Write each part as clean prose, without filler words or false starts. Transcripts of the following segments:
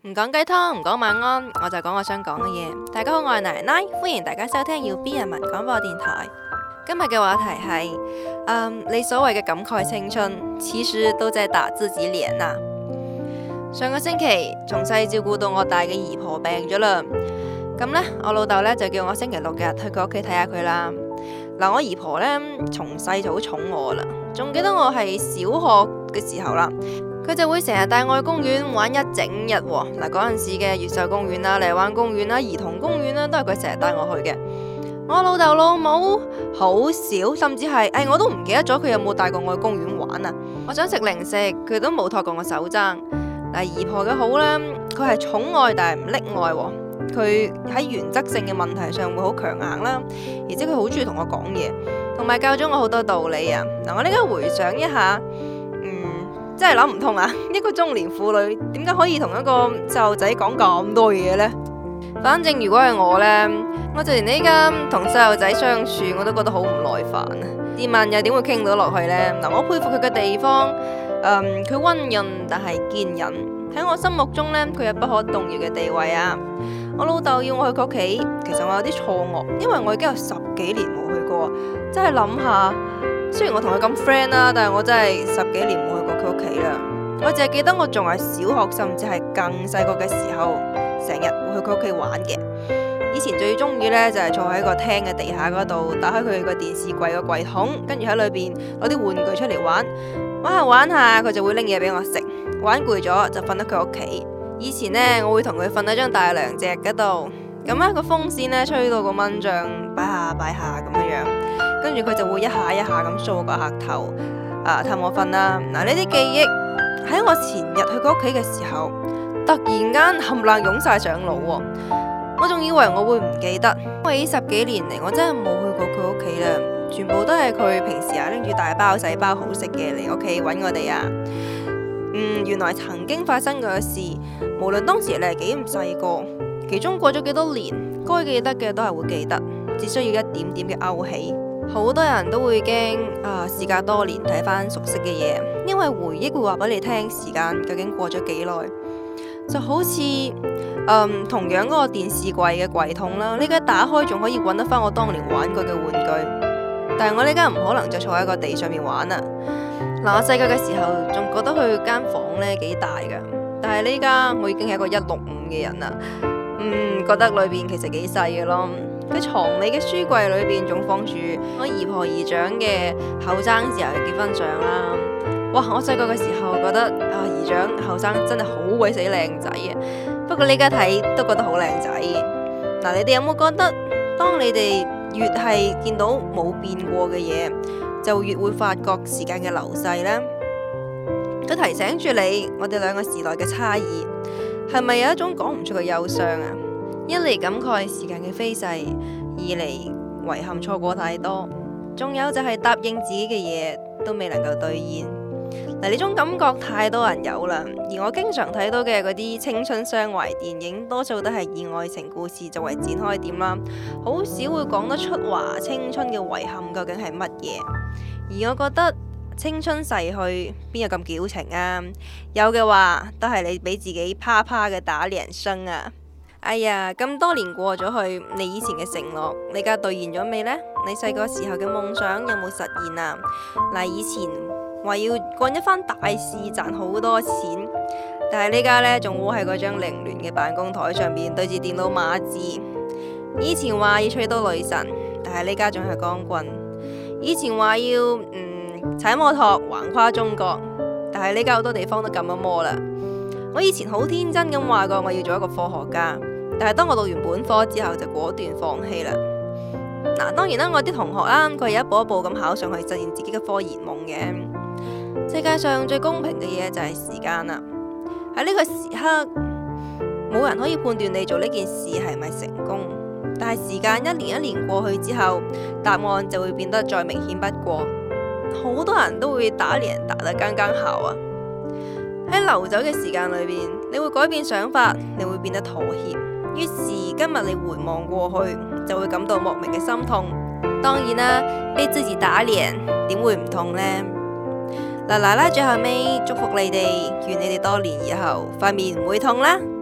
唔講雞湯，唔講晚安，我就講我想講嘅嘢。大家好，我係奶奶，歡迎大家收聽要 B 人民廣播電台。今日嘅話題係，你所謂嘅感慨青春，其實都在打自己臉啊。上個星期從細照顧到我大嘅姨婆病咗啦，咁呢，我老豆呢就叫我星期六日去佢屋企睇下佢啦。嗱，我姨婆呢從細就好寵我啦，仲記得我係小學嘅時候啦。佢就會成日帶我去公園玩一整日喎。嗱，嗰陣時嘅越秀公園啦、荔灣公園啦、兒童公園啦，都係佢成日帶我去嘅。我老豆老母好少，甚至係我都唔記得咗佢有冇帶過我去公園玩啊。我想食零食，佢都冇托過我手踭。嗱，姨婆嘅好呢，佢係寵愛但係唔溺愛喎。佢喺原則性嘅問題上會好強硬啦，而且佢好中意同我講嘢，同埋教咗我好多道理啊。嗱，我呢家回想一下。真係諗唔通啊！一個中年婦女點解可以同一個細路仔講咁多嘢呢？反正如果係我呢，我就連呢家同細路仔相處我都覺得好唔耐煩啊！試問又點會傾到落去呢？嗱，我佩服佢嘅地方，佢溫潤但係堅忍，喺我心目中呢，佢有不可動搖嘅地位啊！我老豆要我去佢屋企，其實我有啲錯愕，因為我已經有10幾年冇去過，真係諗下。雖然我同佢咁 friend 啦，但係我真係10幾年冇去過佢屋企啦。我淨係記得我仲係小學，甚至係更細個嘅時候，成日會去佢屋企玩嘅。以前最中意呢，就係坐喺個廳嘅地下嗰度，打開佢個電視櫃個櫃桶，跟住喺裏邊攞啲玩具出嚟玩，玩下玩下，佢就會拎嘢俾我食。玩攰咗就瞓喺佢屋企。以前呢，我會同佢瞓喺張大梁席嗰度，咁呢個風扇呢，吹到個蚊帳擺下擺下咁樣樣。跟住佢就會一下一下咁掃個額頭，氹我瞓啦。嗱，呢啲記憶喺我前日去佢屋企嘅時候，突然間冚唪唥湧晒上腦喎。我仲以為我會唔記得，因為呢10幾年嚟我真係冇去過佢屋企啦，全部都係佢平時拎住大包細包好食嘅嚟屋企揾我哋啊。原來曾經發生過嘅事，無論當時你係幾咁細個，其中過咗幾多年，該記得嘅都係會記得，只需要一點點嘅勾起。好多人都會驚事隔多年睇返熟悉嘅嘢，因為回憶會話俾你聽時間究竟過咗幾耐。就好似同樣嗰個電視櫃嘅櫃桶啦，呢家打開仲可以揾得返我當年玩過嘅玩具，但係我呢家唔可能再坐喺個地上面玩啦。嗱，我細個嘅時候仲覺得佢間房呢幾大噶，但係呢家我已經係一個165嘅人啦，覺得裏邊其實幾細嘅咯。佢床尾嘅書櫃裏邊仲放住我姨婆姨丈嘅後生時候嘅結婚相啦。哇！我細個嘅時候覺得姨丈後生真係好鬼死靚仔啊。不過呢家睇都覺得好靚仔。嗱，你哋有冇覺得當你哋越係見到冇變過嘅嘢，就越會發覺時間嘅流逝呢？佢提醒住你，我哋兩個時代嘅差異，係咪有一種講唔出嘅憂傷啊？一嚟感慨時間嘅飛逝，二嚟遺憾錯過太多，仲有就係答應自己嘅嘢都未能夠兌現。嗱，呢種感覺太多人有啦，而我經常睇到嘅嗰啲青春傷懷電影，多數都係以愛情故事作為展開點啦，好少會講得出話青春嘅遺憾究竟係乜嘢。而我覺得青春逝去邊有咁矯情啊？有嘅話都係你俾自己啪啪嘅打臉聲啊！哎呀，咁多年過咗去，你以前嘅承諾，你而家兌現咗未呢？你細個時候嘅夢想有冇實現啊？嗱，以前話要幹一番大事賺好多錢，但係呢家呢，仲窩喺嗰張凌亂嘅辦公台上面對住電腦碼字。以前話要娶到女神，但係呢家仲係光棍。以前話要踩摩托橫跨中國，但係呢家好多地方都禁咗摩啦。我以前好天真咁話過我要做一個科學家，但係當我讀完本科之後就果斷放棄啦。嗱，當然啦，我啲同學啦，佢係一步一步咁考上去實現自己嘅科研夢嘅。世界上最公平嘅嘢就係時間啦。喺呢個時刻，冇人可以判斷你做呢件事係咪成功，但係時間一年一年過去之後，答案就會變得再明顯不過。好多人都會打臉打得更更效啊！喺流走嘅時間裏邊，你會改變想法，你會變得妥協。於是今日你回望過去，就會感到莫名嘅心痛。當然啦，被自己打臉點會唔痛呢？嗱，奶奶最後尾祝福你哋，願你哋多年以後塊面唔會痛啦。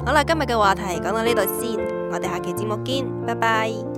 好啦，今日嘅話題講到呢度先，我哋下期節目見，拜拜。